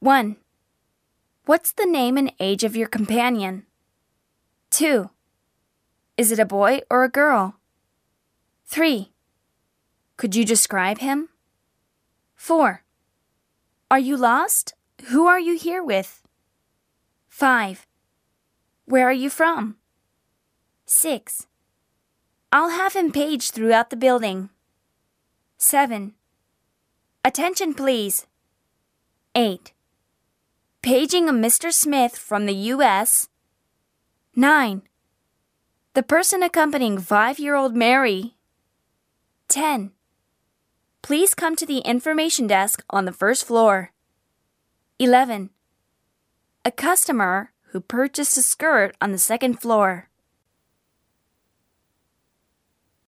1. What's the name and age of your companion? 2. Is it a boy or a girl? 3. Could you describe him? 4. Are you lost? Who are you here with? 5. Where are you from? 6. I'll have him paged throughout the building. 7. Attention, please. 8. Paging a Mr. Smith from the U.S. 9. The person accompanying 5-year-old Mary. 10. Please come to the information desk on the first floor. 11. A customer who purchased a skirt on the second floor.